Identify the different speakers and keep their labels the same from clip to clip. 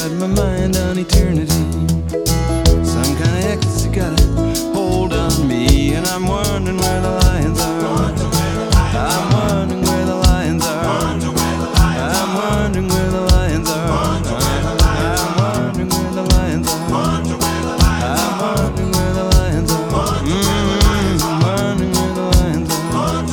Speaker 1: got my mind on eternity. Some kind of ecstasy got a hold on me, and I'm wondering where the lions are. I'm wondering where the lions are. I'm wondering where the lions are. I'm wondering where the lions are. I'm wondering where the lions are. I'm wondering where the lions are.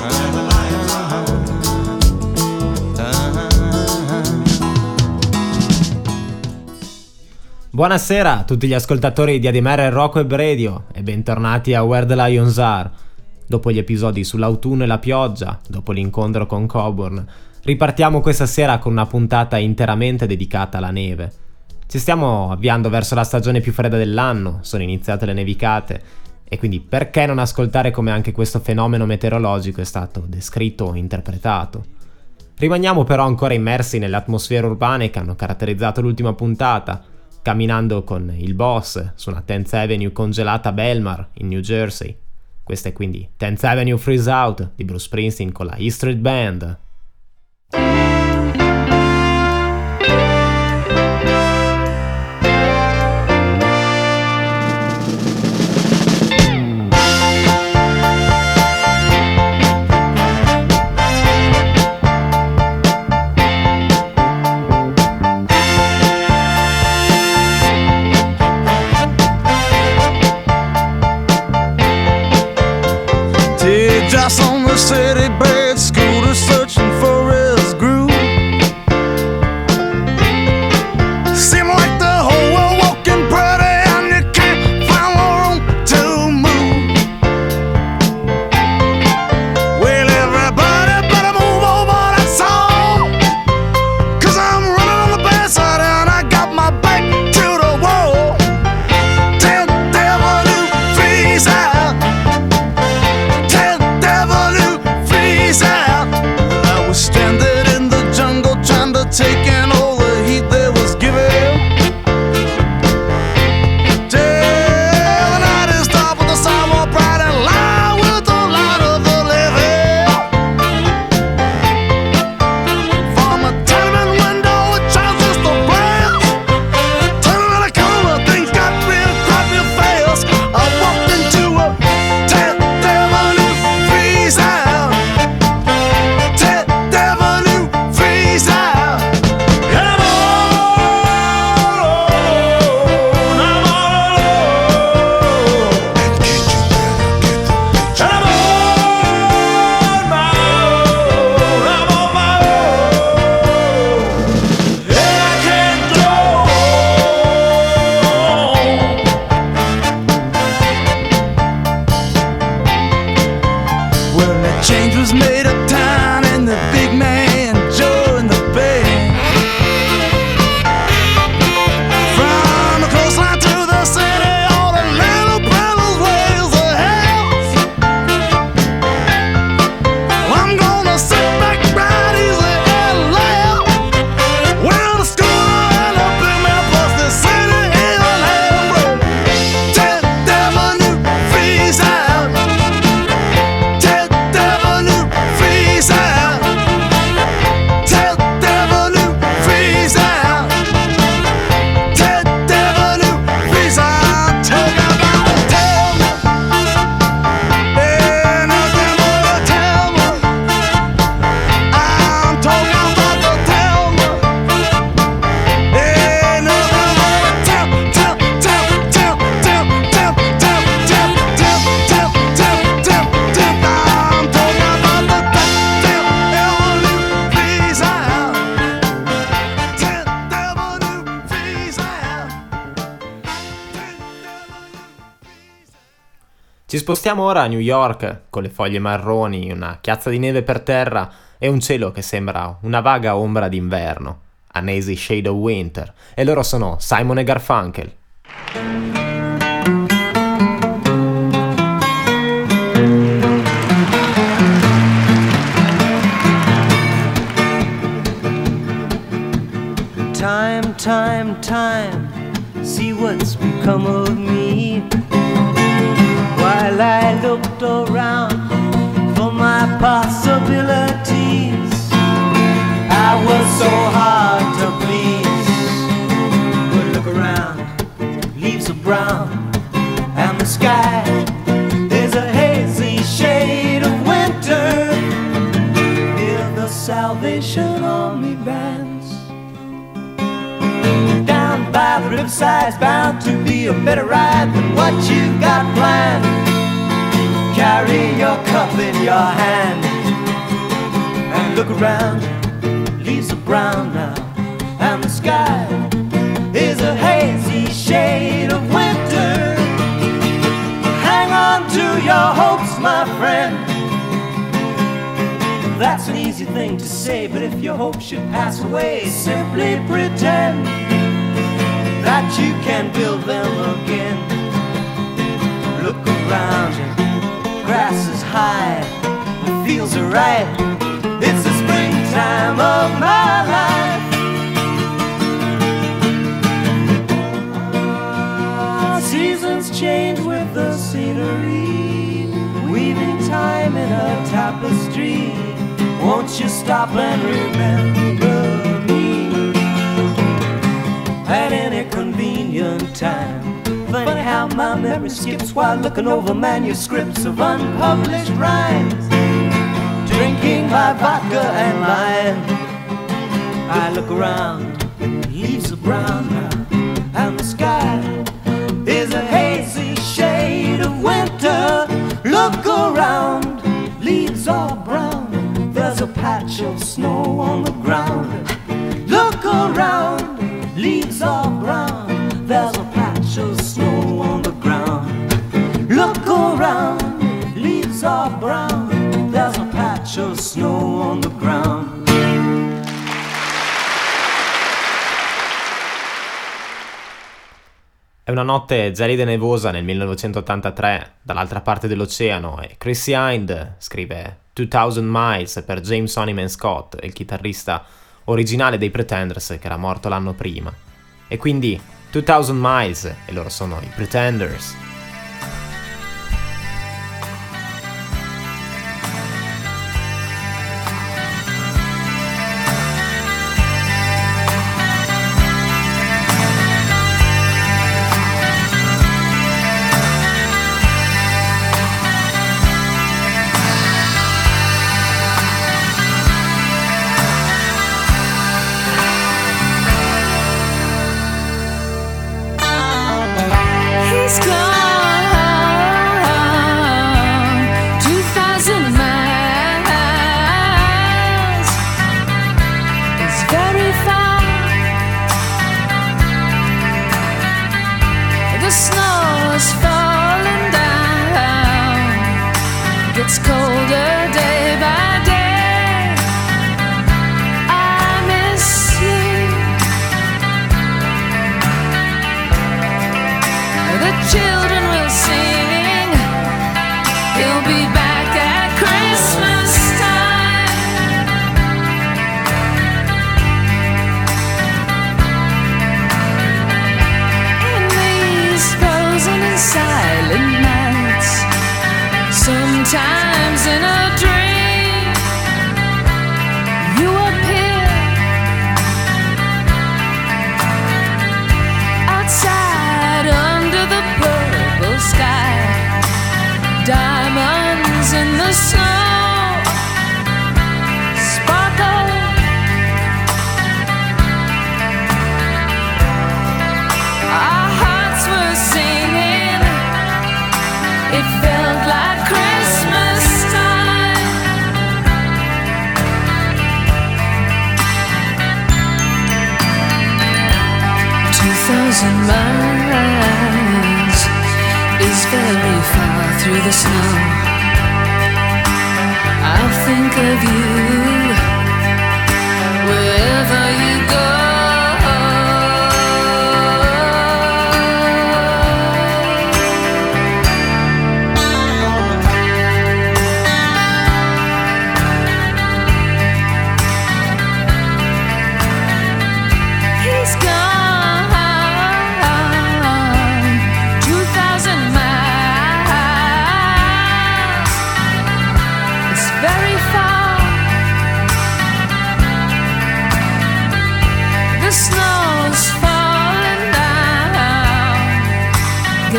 Speaker 2: Buonasera a tutti gli ascoltatori di ADMR Rock Web Radio e bentornati a Where the Lions Are. Dopo gli episodi sull'autunno e la pioggia, dopo l'incontro con Coburn, ripartiamo questa sera con una puntata interamente dedicata alla neve. Ci stiamo avviando verso la stagione più fredda dell'anno, sono iniziate le nevicate, e quindi perché non ascoltare come anche questo fenomeno meteorologico è stato descritto o interpretato? Rimaniamo però ancora immersi nelle atmosfere urbane che hanno caratterizzato l'ultima puntata, camminando con il boss su una 10th Avenue congelata a Belmar, in New Jersey. Questa è quindi 10th Avenue Freeze Out di Bruce Springsteen con la E Street Band.
Speaker 1: Just on the city bed, scooter searching for his groove. Seem like the whole world walking pretty and you can't find no room to move. Well, everybody better move over that song, 'cause I'm running on the bad side and I got my back to the wall. 10th Avenue freeze out. Out. I was stranded in the jungle trying to take in all the heat they was giving. Till the night is dark with the sidewalk bright and light with the light of the living. From a tenement window it transistor blast. Turning around the corner things got real crappy fast. I walked into a 10th Avenue freeze out. Change was made uptown and the big man Joe in the band. From the coastline to the city, all the little brothers ways the house. I'm gonna sit back right easy and laugh when the schooner and the big man plus the city in the road. 10th Avenue freeze out. Freeze out. 10th Avenue freeze out. 10th Avenue freeze out. Talk about the tell me. Ain't nothing but a tell me. I'm talking about the tell me. Ain't nothing but a tell. I'm talking about the
Speaker 2: Ci spostiamo ora a New York, con le foglie marroni, una chiazza di neve per terra e un cielo che sembra una vaga ombra d'inverno, a Hazy Shade of Winter, e loro sono Simon e Garfunkel.
Speaker 3: Time, see what's become of me. While I looked around for my possibilities, I was so hard to please. brown, and the sky is a hazy shade of winter. Hear the Salvation Army bands down by the riverside's bound to be a better ride than what you've got planned. Carry your cup in your hand and look around. Leaves are brown now, and the sky is a hazy shade of winter. Hang on to your hopes, my friend. That's an easy thing to say, but if your hope should pass away, simply pretend that you can build them again. Look around you, grass is high, the fields are right. It's the springtime of my life. Seasons change with the scenery, weaving time in a tapestry. Won't you stop and remember me at any convenient time? Funny how my memory skips while looking over manuscripts of unpublished rhymes. Drinking my vodka and wine, I look around, leaves are brown now, and the sky is a hazy shade of winter. Look around, leaves are brown, there's a patch of snow on the ground. Look around, leaves are brown, there's a patch of snow on the ground. Look around, leaves are brown, there's a patch of snow on the ground.
Speaker 2: È una notte gelida e nevosa nel 1983 dall'altra parte dell'oceano e Chrissie Hynde scrive 2000 Miles per James Honeyman Scott, il chitarrista originale dei Pretenders che era morto l'anno prima. E quindi 2000 Miles e loro sono i Pretenders.
Speaker 4: It's colder day by day. I miss you. The children will sing. He'll be back at Christmas time. In these frozen and silent nights, sometimes in a dream, you appear outside under the purple sky. Diamonds in the snow sparkle. Our hearts were singing. It felt like Christmas time. 2,000 miles is very far through the snow. I'll think of you wherever you go.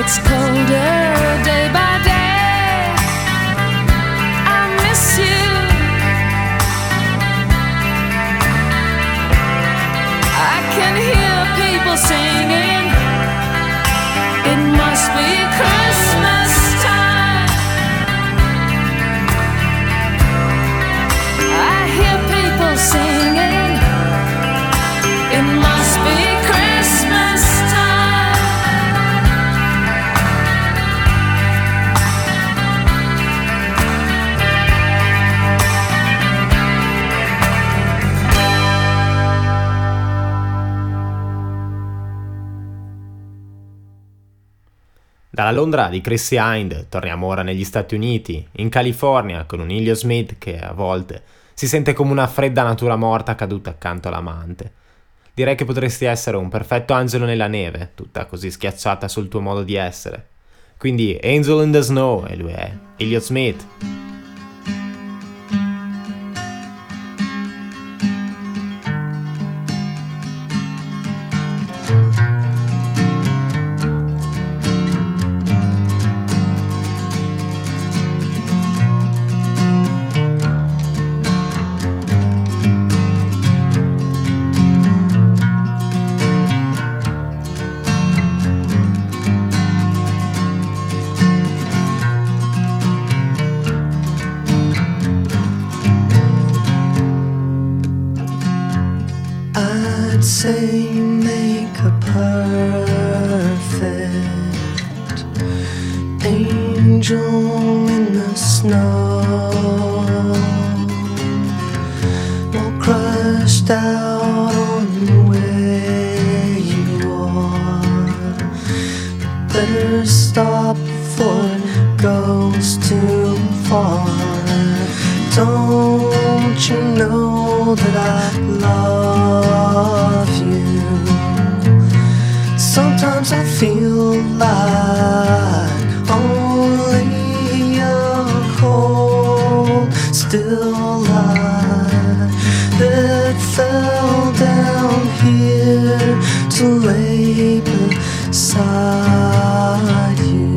Speaker 4: gets colder day by day. I miss you. I can hear people singing. It must be Christmas time. I hear people singing. It must be Christmas time.
Speaker 2: Dalla Londra di Chrissie Hynde torniamo ora negli Stati Uniti, in California, con un Elliott Smith che a volte si sente come una fredda natura morta caduta accanto all'amante. Direi che potresti essere un perfetto angelo nella neve, tutta così schiacciata sul tuo modo di essere. Quindi Angel in the Snow, e lui è Elliott Smith.
Speaker 3: Say you make a perfect angel in the snow, all crushed out on where you are. Better stop before it goes too far. Don't you know that I love you? Sometimes I feel like only a cold, still light that fell down here to lay beside you.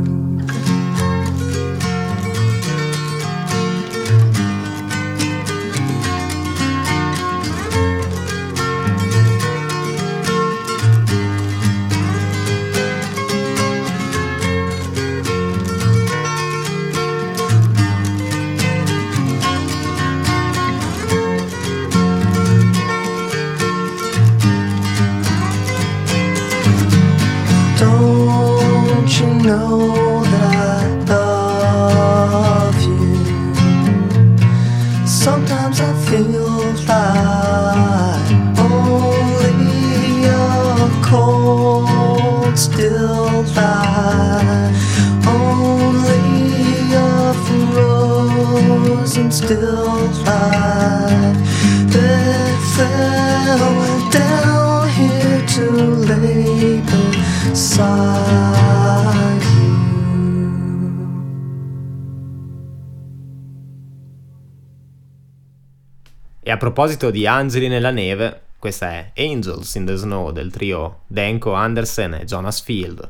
Speaker 3: Know that I love you. Sometimes I feel like only a cold, still light, only a frozen still light that fell down here to lay beside.
Speaker 2: E a proposito di angeli nella neve, questa è Angels in the Snow del trio Danko Andersen e Jonas Field.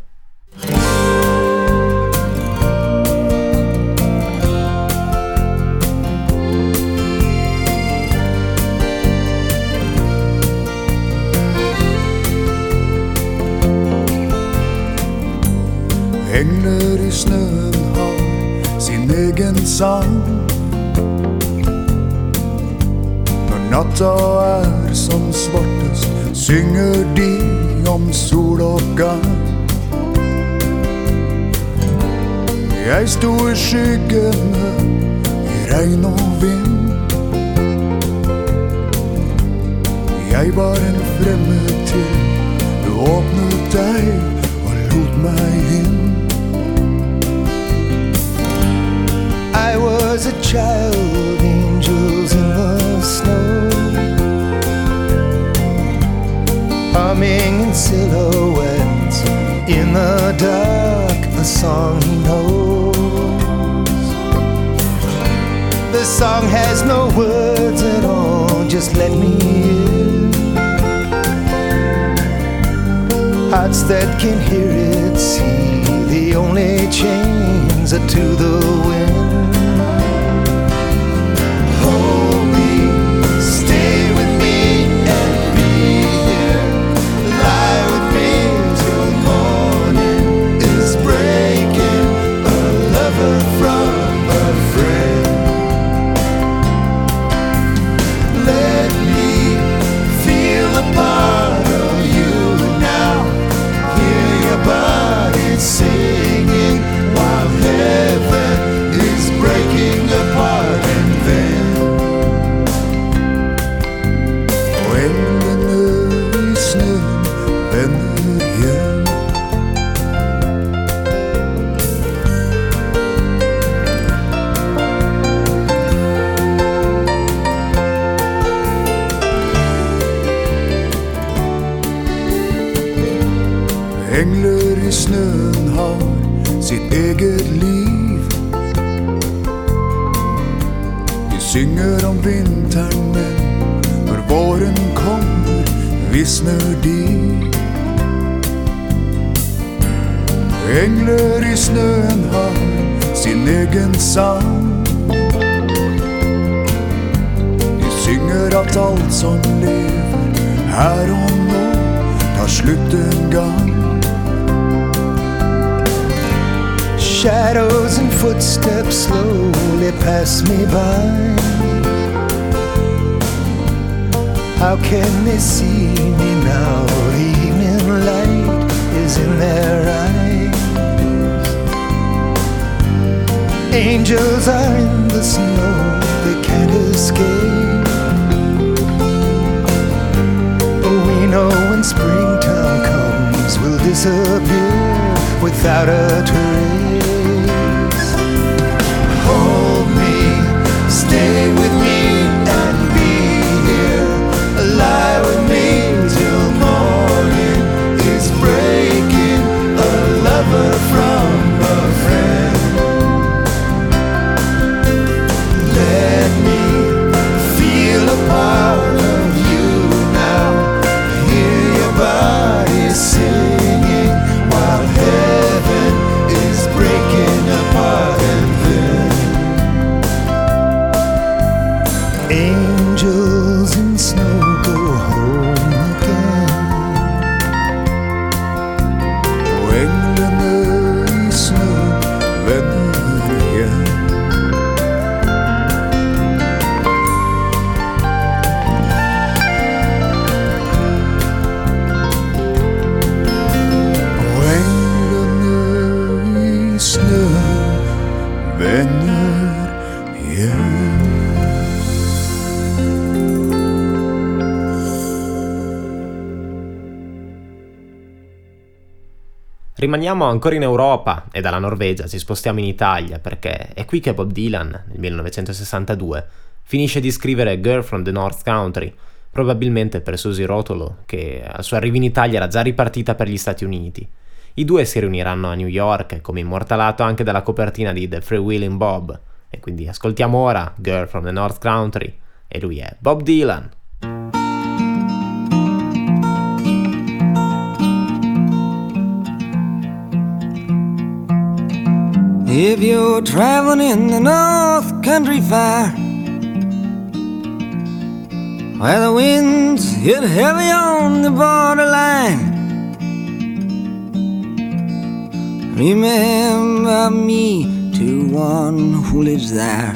Speaker 5: Änglar i snön har sin egen sång. Natta är som svartest, synger de om sol og gang. Jeg sto i skyggene, i regn og vind. Jeg var en fremmed til, du åpnet deg og lot meg inn. I was a child, angels in the snow, humming in silhouettes in the dark, a song he knows. The song has no words at all, just let me in. Hearts that can hear it, see
Speaker 6: the only chains are to the wind. Hold me, stay with me and be here. Lie with me till morning is breaking. A lover from a friend. Let me feel a part of you now. Hear your body singing while heaven is breaking apart. And then when the snön vänder igen, änglar i snön har sitt eget liv. De synger om vintern, men när våren kommer vissnar de. Änglar i snön har sin egen sång. De synger att allt som lever här och nu tar slut en gång. Shadows and footsteps slowly pass me by. How can they see me now? The evening light is in their eyes. Angels are in the snow, they can't escape. We know when springtime comes, we'll disappear without a trace. Hold me, stay with me and be here. Lie with me till morning is breaking. A lover from a friend. Let me feel a part of you now. Hear your body singing while heaven is breaking apart. And then angels in snow go home again. Och änglarna i snö vänder igen. Och änglarna i snö vänder igen.
Speaker 2: Rimaniamo ancora in Europa e dalla Norvegia ci spostiamo in Italia, perché è qui che Bob Dylan, nel 1962, finisce di scrivere Girl from the North Country, probabilmente per Susie Rotolo, che al suo arrivo in Italia era già ripartita per gli Stati Uniti. I due si riuniranno a New York, come immortalato anche dalla copertina di The Freewheelin' Bob, e quindi ascoltiamo ora Girl from the North Country, e lui è Bob Dylan.
Speaker 3: If you're traveling in the North Country Fire, where the winds hit heavy on the borderline, remember me to one who lives there,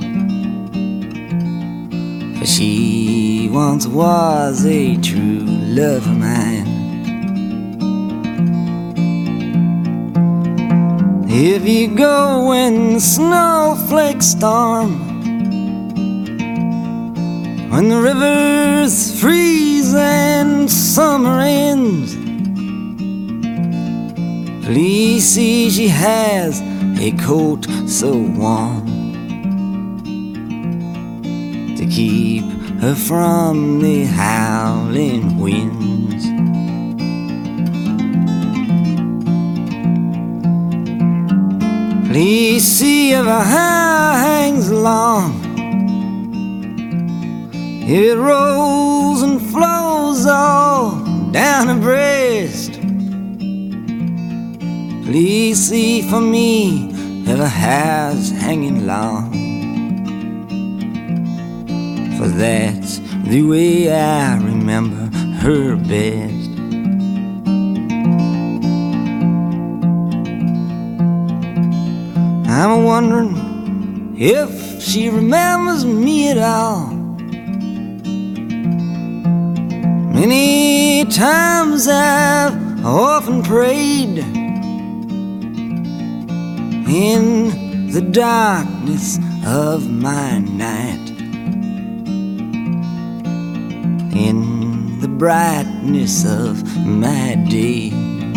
Speaker 3: for she once was a true love of mine. If you go when the snowflakes storm, when the rivers freeze and summer ends, please see she has a coat so warm to keep her from the howling winds. Please see if her hair hangs long, it rolls and flows all down her breast. Please see for me if her hair's hanging long, for that's the way I remember her best. I'm wondering if she remembers me at all. Many times I've often prayed in the darkness of my night, in the brightness of my day.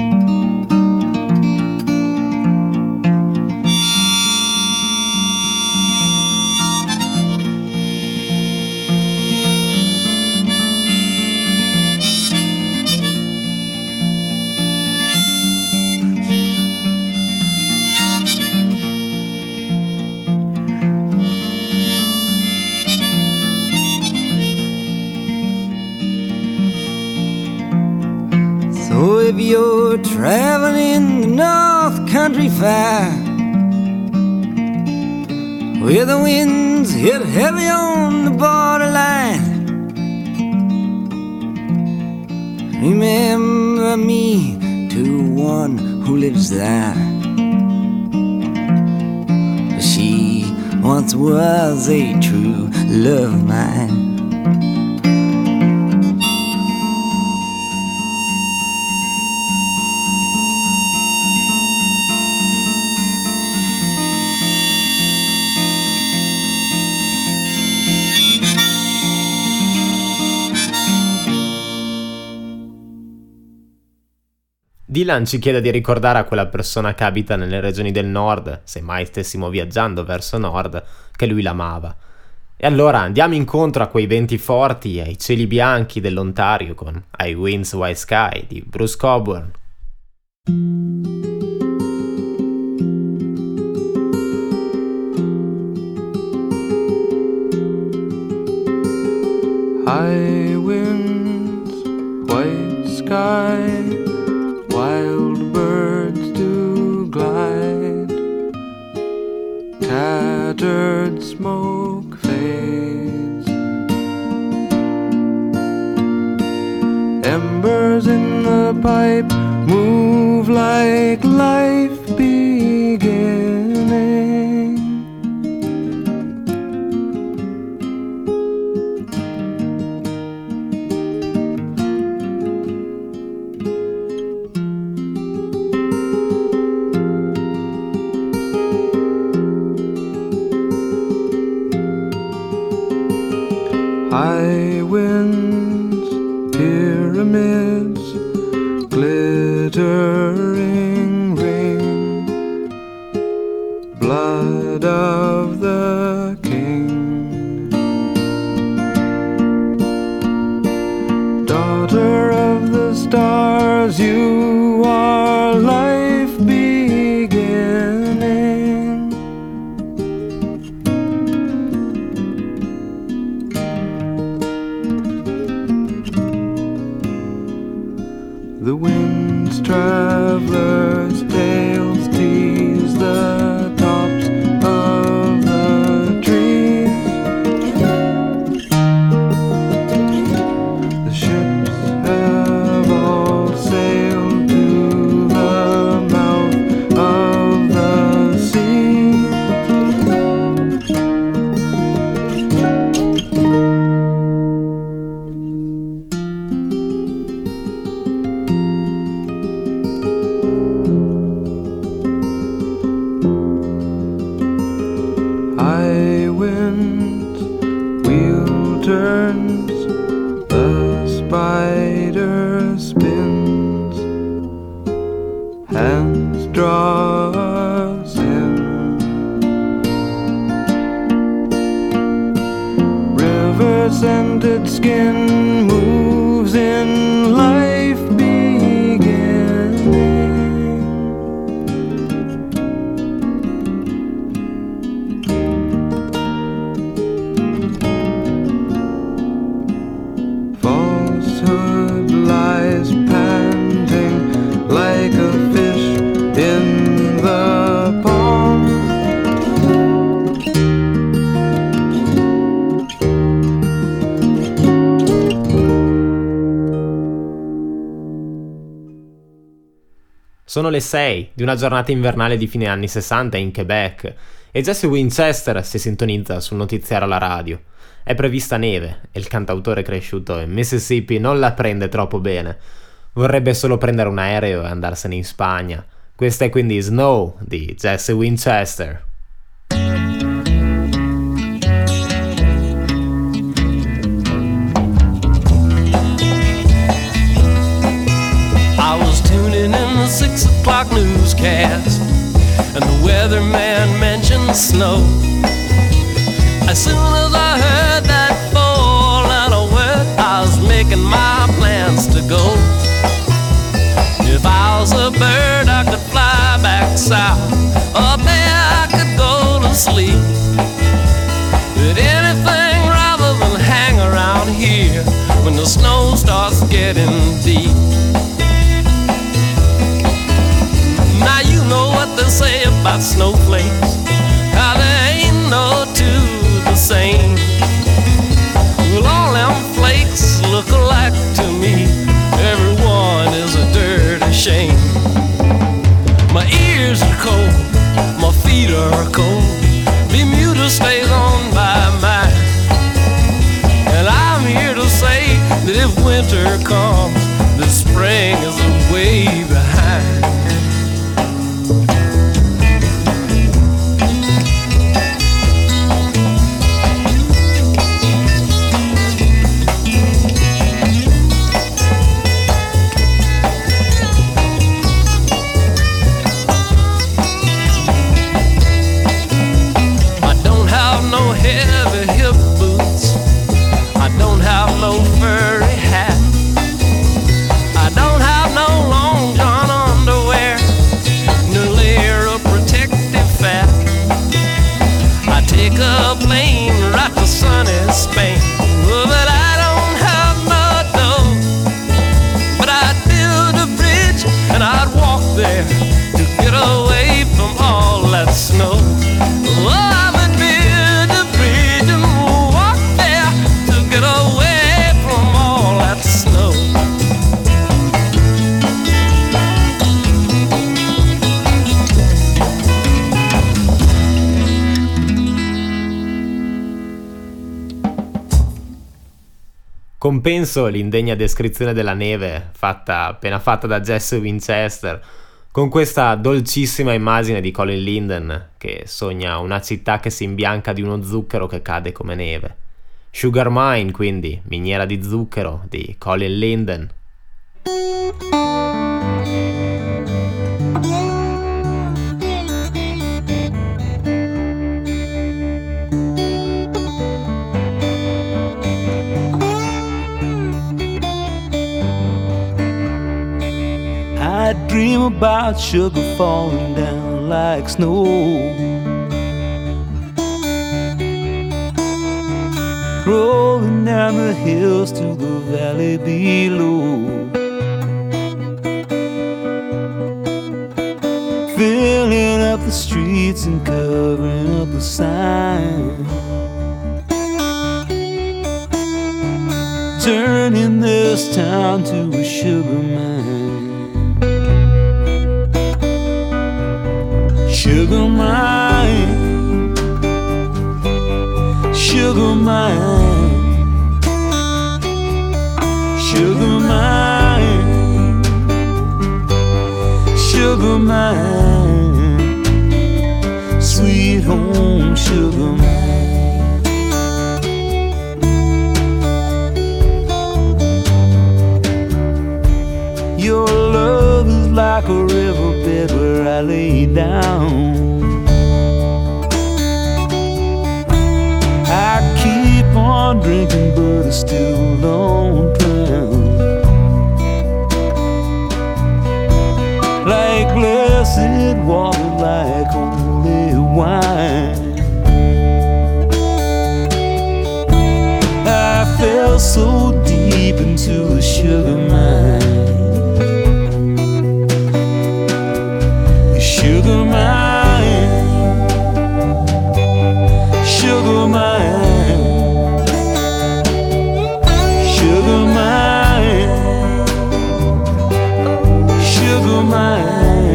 Speaker 3: So if you're traveling the North Country Fair, where the winds hit heavy on the borderline, remember me to one who lives there. She once was a true love of mine.
Speaker 2: Dylan ci chiede di ricordare a quella persona che abita nelle regioni del nord, se mai stessimo viaggiando verso nord, che lui l'amava. E allora andiamo incontro a quei venti forti e ai cieli bianchi dell'Ontario con I Winds White Sky di Bruce Cockburn.
Speaker 1: High winds, white sky, wild birds do glide, tattered smoke fades, embers in the pipe move like life beginning. High winds, pyramids, glittering rain, blood of the king, daughter of the stars, you are life beginning. The wind's traveler's tales tease the tops of the trees. The ships have all sailed to the mouth of the sea. High winds, wheel turns, the spider spins, hands draw us in, river-scented skin moves in life beginning. Falsehood lies panting like a fish in
Speaker 2: Sono le 6 di una giornata invernale di fine anni 60 in Quebec e Jesse Winchester si sintonizza sul notiziario alla radio. È prevista neve e il cantautore cresciuto in Mississippi non la prende troppo bene. Vorrebbe solo prendere un aereo e andarsene in Spagna. Questa è quindi Snow di Jesse Winchester.
Speaker 3: I was tuning in the 6 o'clock newscast, and the weatherman mentioned snow. As soon as I heard that four-letter word, I was making my plans to go. If I was a bird, I could fly back south. Up there, I could go to sleep. But anything rather than hang around here when the snow starts getting deep. Now you know what they say about snowflakes, how there ain't no two the same. Well, all them flakes look alike to me. Everyone is a dirty shame. My ears are cold, my feet are cold. Bermuda stays on by mine. And I'm here to say that if winter comes, the spring is way behind. No furry hat. I don't have no long john underwear, no layer of protective fat. I take a plane right to sunny Spain, but I don't have no dough. But I'd build a bridge and I'd walk there to get away from all that snow. Oh, I would build a bridge and walk there to get away snow.
Speaker 2: Compenso l'indegna descrizione della neve appena fatta da Jesse Winchester con questa dolcissima immagine di Colin Linden che sogna una città che si imbianca di uno zucchero che cade come neve. Sugar Mine, quindi, miniera di zucchero di Colin Linden.
Speaker 3: I dream about sugar falling down like snow, rolling down the hills to the valley below, filling up the streets and covering up the sign, turning this town to a sugar mine. Sugar mine, sugar mine, sugar mine, sugar mine, sweet home sugar mine. Your love is like a riverbed where I lay down. I keep on drinking, but I still don't drown. Like blessed water, like holy wine. I fell so deep into the sugar mine. Sugar mine, sugar mine, sugar mine, sugar mine.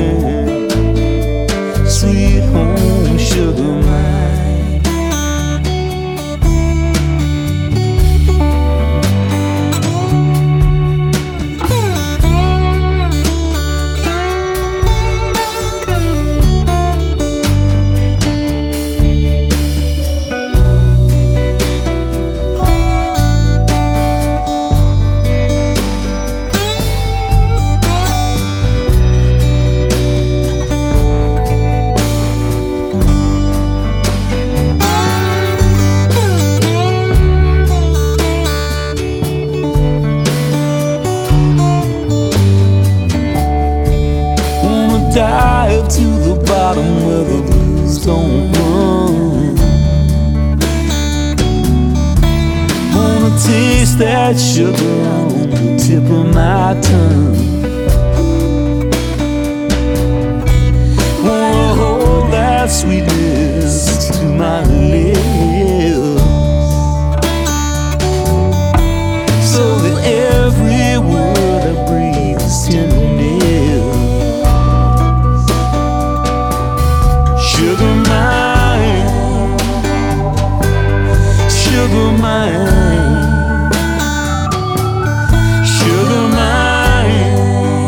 Speaker 3: dive to the bottom where the blues don't run. Wanna taste that sugar on the tip of my tongue. Wanna hold that sweetness to my lips, so that every word I breathe is tenderness. Sugar mine, sugar mine, sugar mine,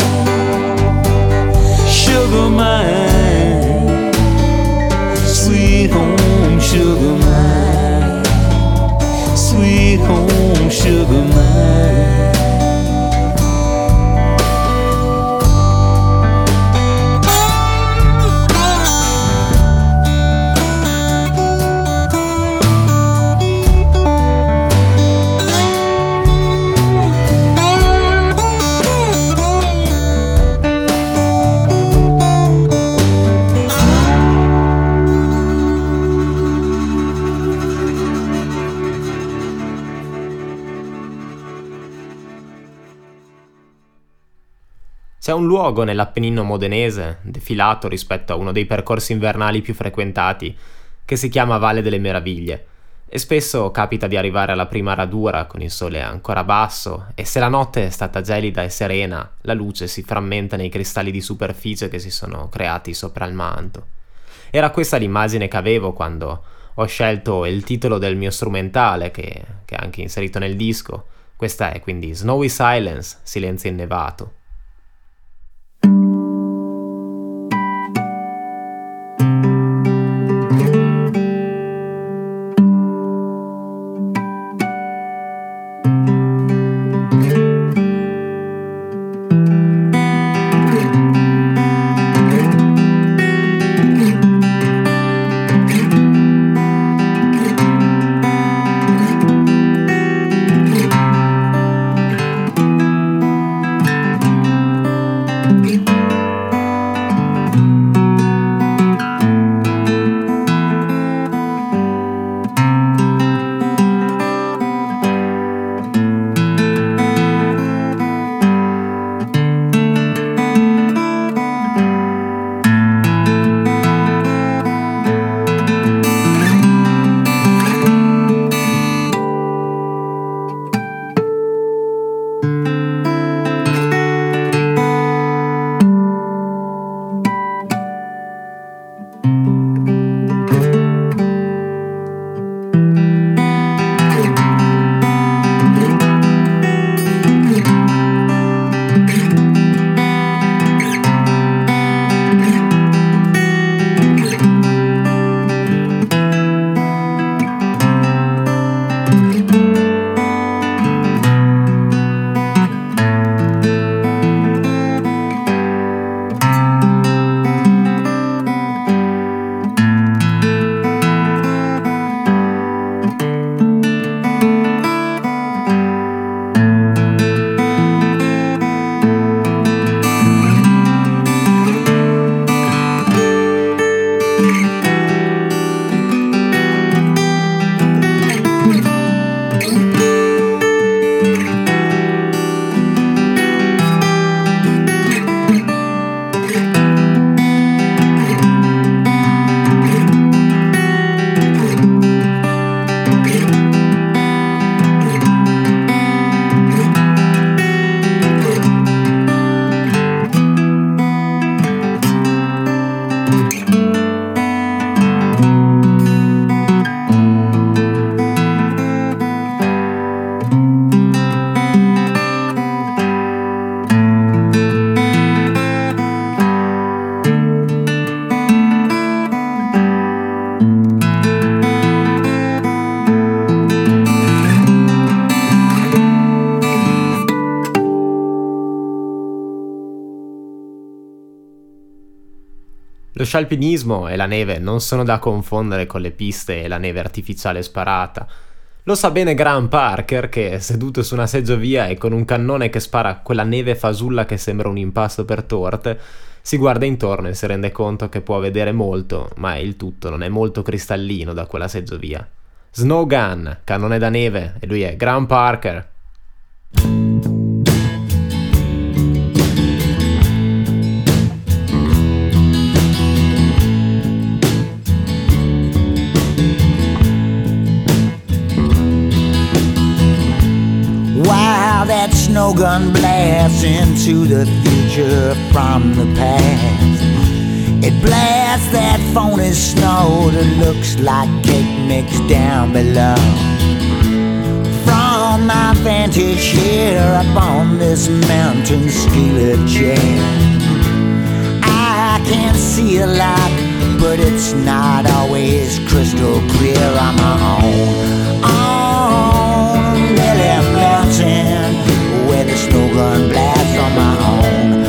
Speaker 3: sugar mine, sweet home sugar mine, sweet home sugar mine.
Speaker 2: C'è un luogo nell'Appennino modenese, defilato rispetto a uno dei percorsi invernali più frequentati, che si chiama Valle delle Meraviglie, e spesso capita di arrivare alla prima radura con il sole ancora basso, e se la notte è stata gelida e serena, la luce si frammenta nei cristalli di superficie che si sono creati sopra il manto. Era questa l'immagine che avevo quando ho scelto il titolo del mio strumentale, che è anche inserito nel disco. Questa è quindi Snowy Silence, Silenzio innevato. Lo scialpinismo e la neve non sono da confondere con le piste e la neve artificiale sparata. Lo sa bene Graham Parker che, seduto su una seggiovia e con un cannone che spara quella neve fasulla che sembra un impasto per torte, Si guarda intorno e si rende conto che può vedere molto, ma il tutto non è molto cristallino da quella seggiovia. Snow Gun, cannone da neve, e lui è Graham Parker.
Speaker 6: Wow, that snow gun blasts into the future from the past. It blasts that phony snow that looks like cake mix down below. From my vantage here up on this mountain ski lift chair, I can see a lot, but it's not always crystal clear on my own. On Lily Mountain, where the snow gun blasts on my own.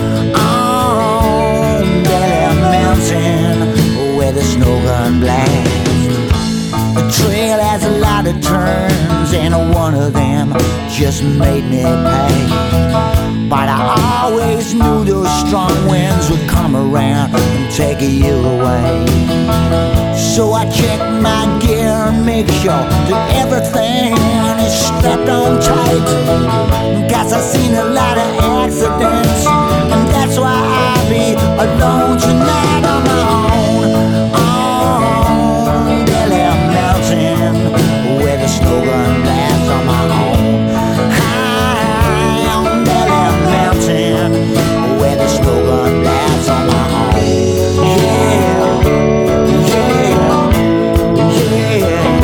Speaker 6: On Lily Mountain, where the snow gun blasts. The trail has a lot of turns, and one of them just made me pay. But I always knew those strong winds would come around and take you away. So I check my gear and make sure that everything is strapped on tight. Cause I've seen a lot of accidents, and that's why I'll be alone tonight on my own. On Lily Mountain, where the snow gun blasts on my own. High on Lily Mountain, where the snow gun blasts on my own. Yeah, yeah, yeah,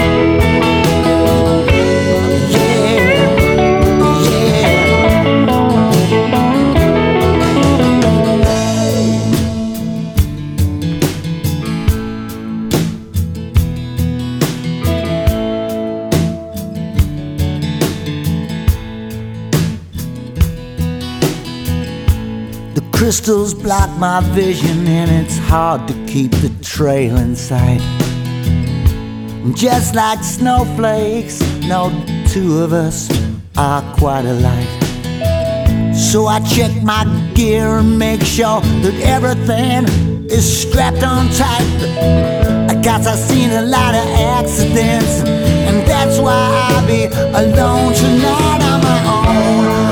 Speaker 6: crystals block my vision, and it's hard to keep the trail in sight. Just like snowflakes, no two of us are quite alike. So I check my gear and make sure that everything is strapped on tight. Cause I've seen a lot of accidents, and that's why I'll be alone tonight on my own.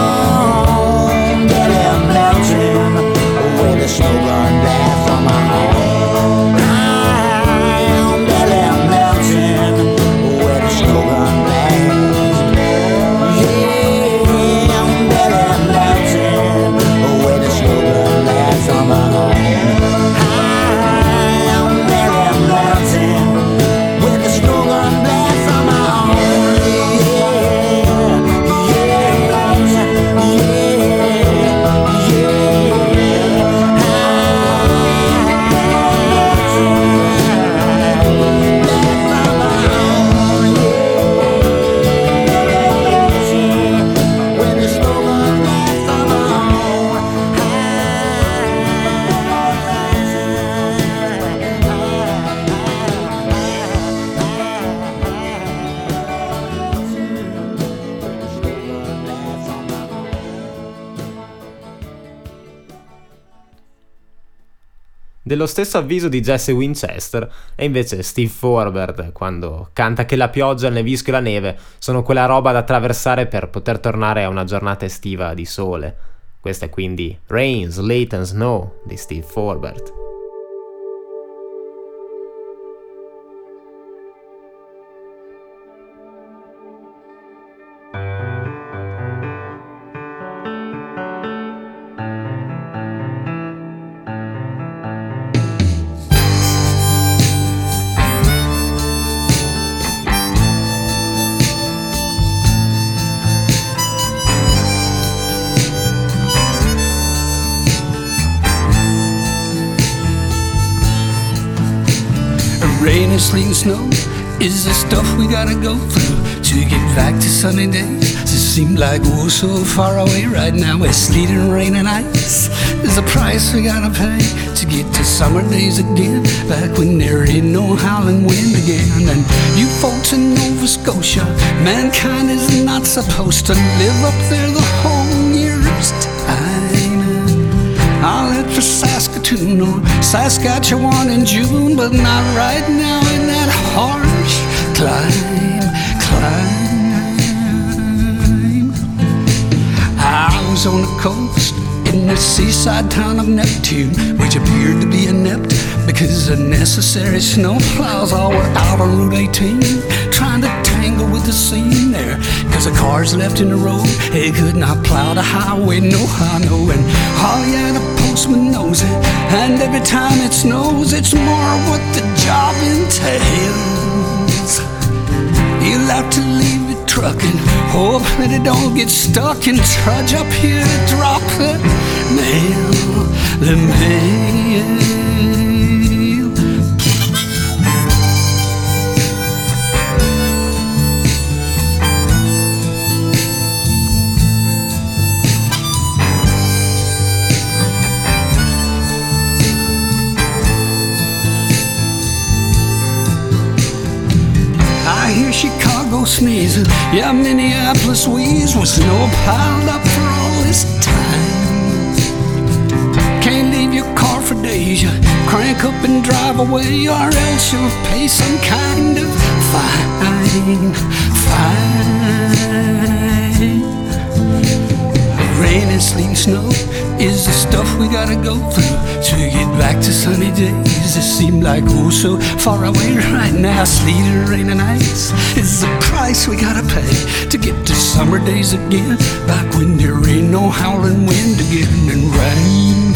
Speaker 6: Where the snow gun blasts on my own. High on Lily Mountain, where the snow gun blasts. Yeah, on Lily Mountain, where the snow gun blasts on my own. High on Lily Mountain, where the snow gun blasts on my own. Yeah, yeah, yeah.
Speaker 2: Dello stesso avviso di Jesse Winchester è invece Steve Forbert quando canta che la pioggia, il nevisco e la neve sono quella roba da attraversare per poter tornare a una giornata estiva di sole. Questa è quindi Rain, Sleet and Snow di Steve Forbert.
Speaker 7: Rain and sleet and snow is the stuff we gotta go through to get back to sunny days. It seems like we're so far away right now. With sleet and rain and ice is the price we gotta pay to get to summer days again, back when there ain't no howling wind again. And you folks in Nova Scotia, mankind is not supposed to live up there the whole year's time. I'll let for Saskatoon or Saskatchewan in June, but not right now in that harsh climb. I was on the coast in the seaside town of Neptune, which appeared to be inept because the necessary snowplows all were out on Route 18, trying to tangle with the scene there, cause the cars left in the road, they could not plow the highway, no how, no. And oh yeah, the postman knows it, and every time it snows, it's more what the job entails. You'll have to leave it trucking, hope that it don't get stuck, and trudge up here to drop the mail, the mail. I hear Chicago sneezing, yeah, Minneapolis wheeze, with snow piled up for all this time. Can't leave your car for days, you crank up and drive away, or else you'll pay some kind of fine. Rain and sleet and snow is the stuff we gotta go through to get back to sunny days that seem like oh so far away right now. Sleet and rain and ice is the price we gotta pay to get to summer days again, back when there ain't no howling wind again and rain.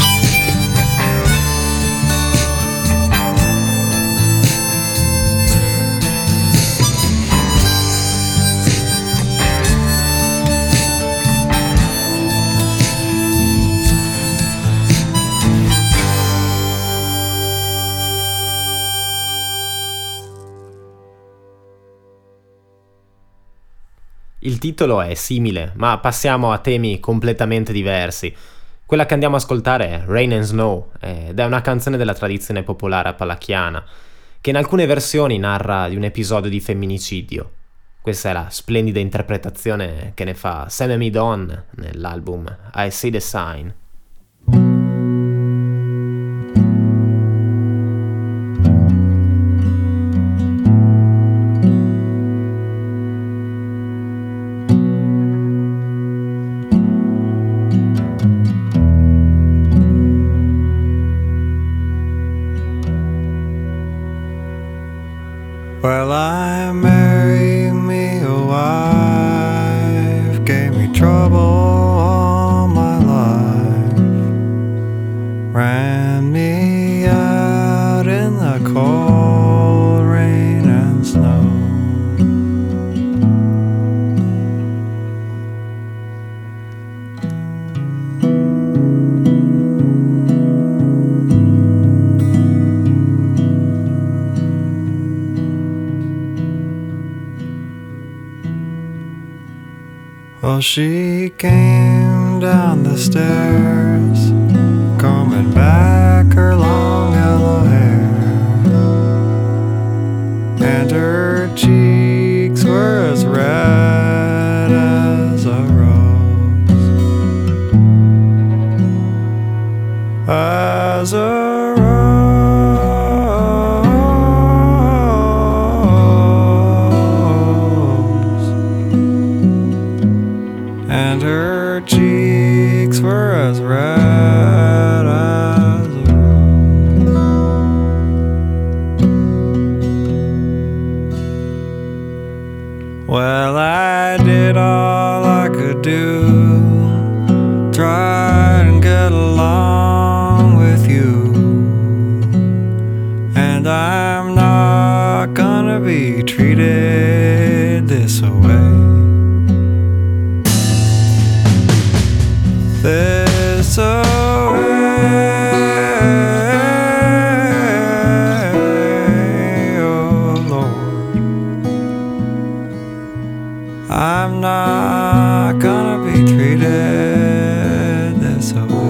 Speaker 2: Il titolo è simile, ma passiamo a temi completamente diversi. Quella che andiamo a ascoltare è Rain and Snow, ed è una canzone della tradizione popolare appalachiana, che in alcune versioni narra di un episodio di femminicidio. Questa è la splendida interpretazione che ne fa Sam and Me Dawn nell'album I See the Sign.
Speaker 1: Well, I married me a wife, gave me trouble all my life, ran me out in the cold rain and snow. Well, she came down the stairs, combing back her long yellow hair, and her cheeks were as red as a rose, as a and her cheeks were as red as a rose. Well, I did all I could do, tried and get along with you, and I'm not gonna be treated this way. This away, oh Lord, I'm not gonna be treated this way.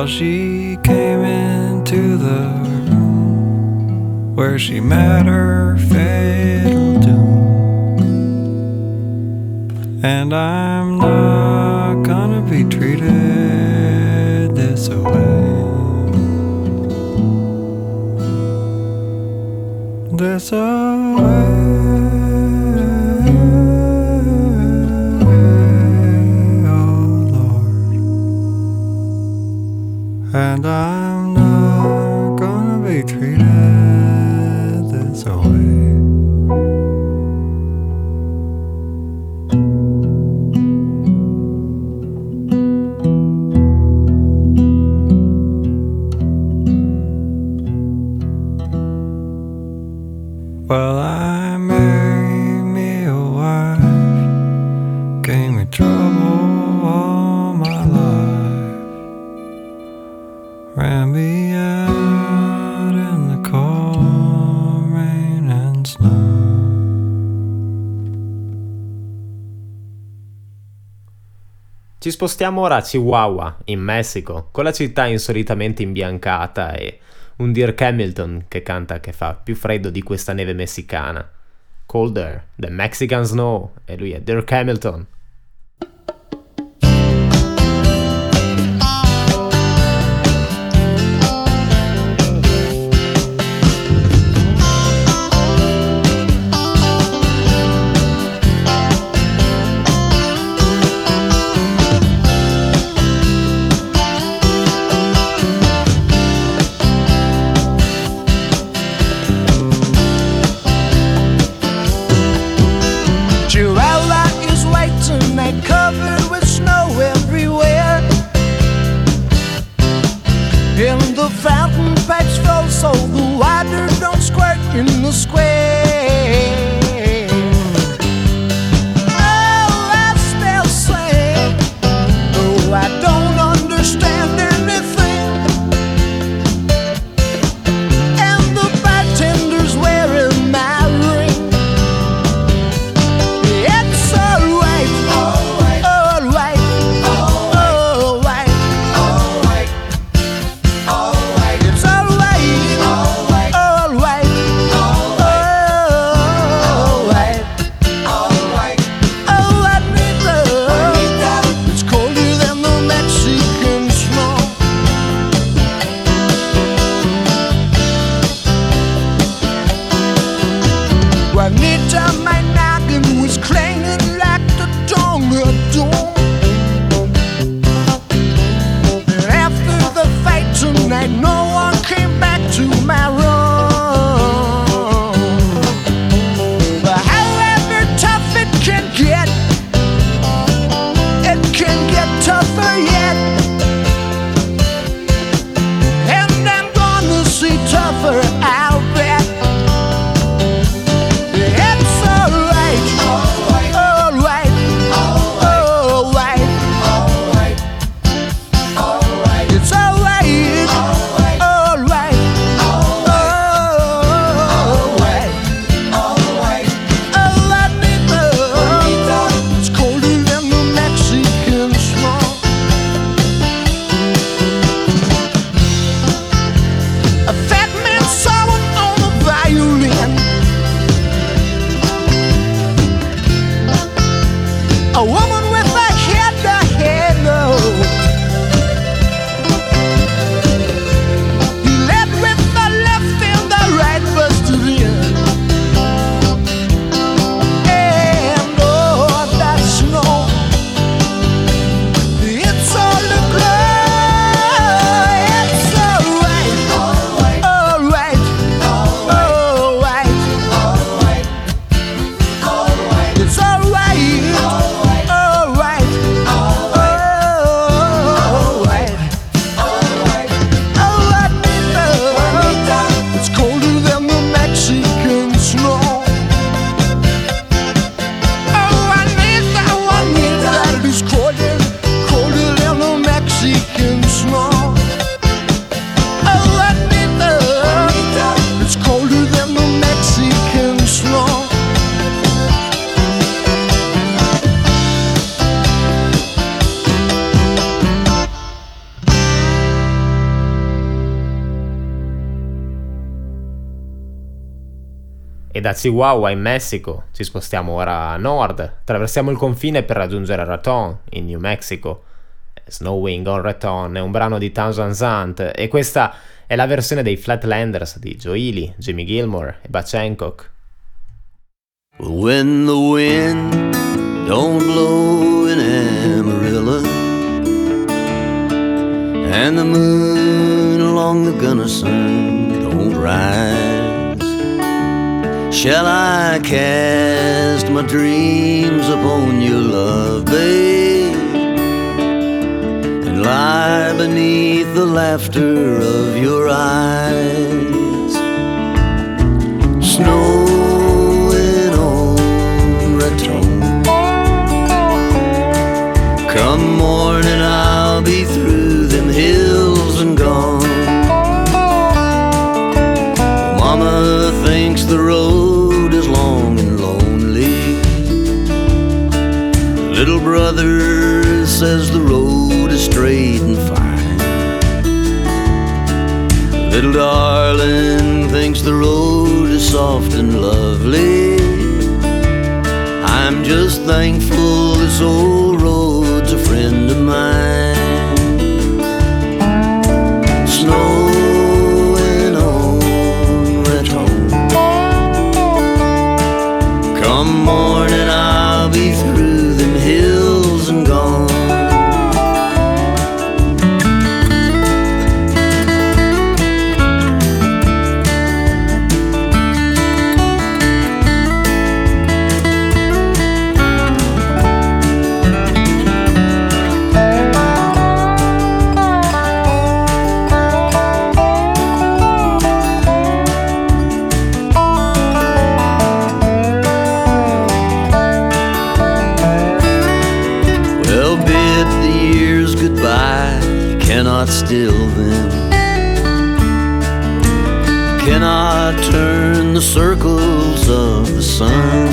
Speaker 1: Well, she came into the room where she met her fatal doom, and I'm not gonna be treated this way. This way. And I'm not gonna be treated this way. Well, I married me a wife, gave me trouble all my life, ran me out in the cold rain and snow.
Speaker 2: Ci spostiamo ora a Chihuahua, in Messico, con la città insolitamente imbiancata e un Dirk Hamilton che canta che fa più freddo di questa neve messicana. Colder, the Mexican Snow, e lui è Dirk Hamilton.
Speaker 6: Covered with snow everywhere, and the fountain pipes flow so the water don't squirt in the square. Oh, I still sing, though I don't understand anything, and the bartender's wearing my ring. It's alright. Juanita, my noggin was clanging like the dawn of dawn. And after the fight tonight, no one came back to my room. But however tough it can get tougher yet. And I'm gonna see tougher, I'll bet. It's alright.
Speaker 2: da Chihuahua in Messico ci spostiamo ora a nord, attraversiamo il confine per raggiungere Raton in New Mexico. Snowing on Raton è un brano di Townsend Zant e questa è la versione dei Flatlanders di Joe Ely, Jimmy Gilmore e Butch Hancock.
Speaker 1: When the wind don't blow in Amarillo and the moon along the Gunnison don't rise, shall I cast my dreams upon your love, babe, and lie beneath the laughter of your eyes? Snowing on Raton, come morning I'll be through them hills and gone. Mama thinks the road is long and lonely. Little brother says the road is straight and fine. Little darling thinks the road is soft and lovely. I'm just thankful this old road's a friend of mine. Snowing on Raton, come morning I'll be through them hills and gone. Cannot still them, cannot turn the circles of the sun,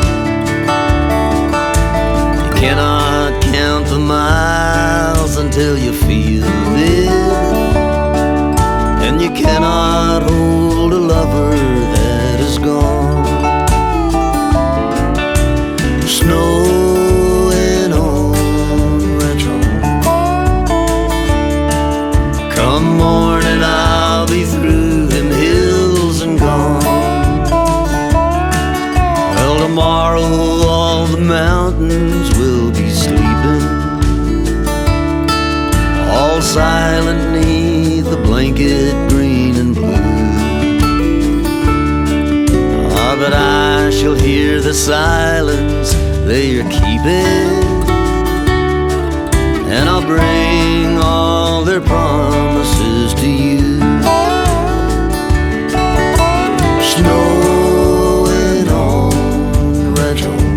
Speaker 1: you cannot count the miles until you feel them, and you cannot hold a lover that is gone. Snowing on Raton, come morning I'll be through them hills and gone. Well, tomorrow all the mountains will be sleeping, all silent neath the blanket green and blue. Ah, but I shall hear the silence they are keeping, and I'll bring all their promises to you. Snowing on Raton,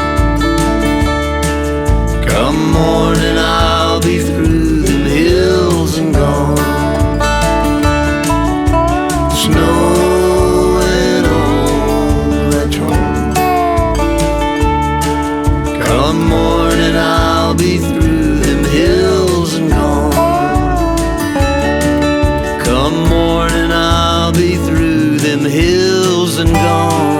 Speaker 1: come morning I'll be through them hills and gone. Snowing on Raton, come morning I'll be through them hills and gone. Come morning I'll be through them hills and gone.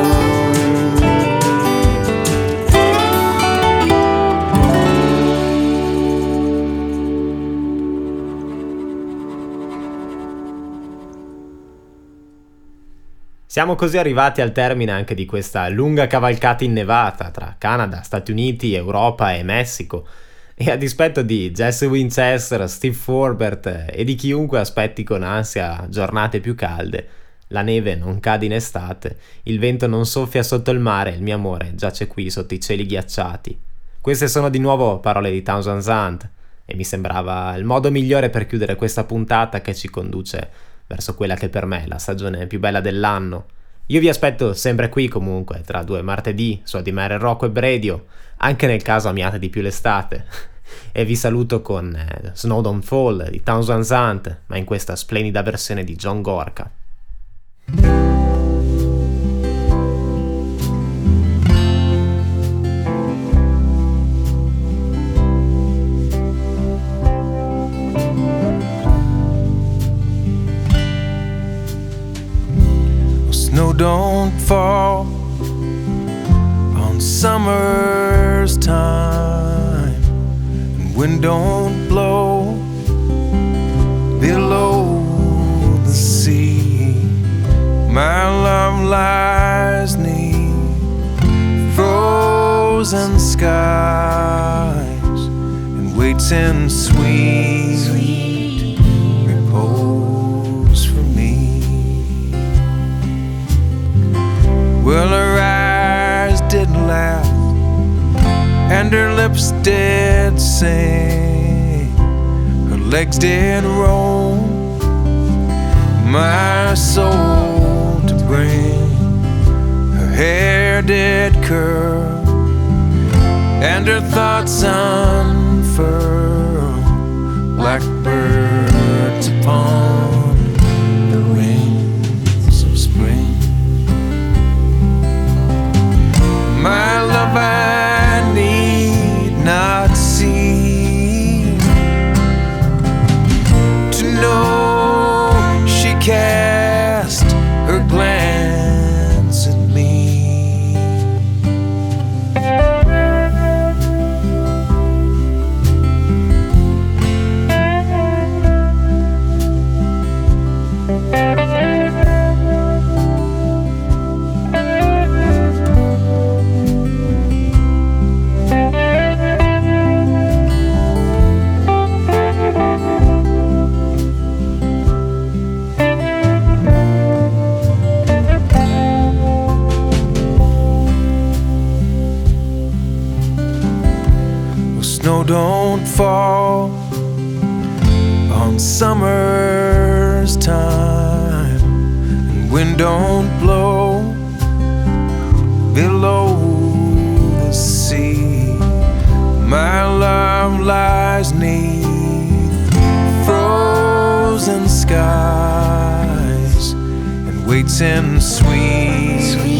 Speaker 2: Siamo così arrivati al termine anche di questa lunga cavalcata innevata tra Canada, Stati Uniti, Europa e Messico. E a dispetto di Jesse Winchester, Steve Forbert e di chiunque aspetti con ansia giornate più calde, la neve non cade in estate, il vento non soffia sotto il mare, il mio amore giace qui sotto i cieli ghiacciati. Queste sono di nuovo parole di Townsend Zant e mi sembrava il modo migliore per chiudere questa puntata che ci conduce verso quella che per me è la stagione più bella dell'anno. Io vi aspetto sempre qui comunque, tra 2 martedì, su ADMR Rock Web Radio, anche nel caso amiate di più l'estate. E vi saluto con Snow Don't Fall di Townsend Zant, ma in questa splendida versione di John Gorka.
Speaker 8: Snow don't fall
Speaker 1: summer's time and wind don't blow below the sea. My love lies 'neath frozen skies and waits in sweet repose for me. Well, her eyes didn't laugh and her lips did sing, her legs did roam my soul to bring, her hair did curl and her thoughts unfurl, blackbirds upon the wings of spring. My love I need not see to know she cast her glance at me. Snow don't fall on summer's time and wind don't blow below the sea. My love lies 'neath frozen skies and waits in sweet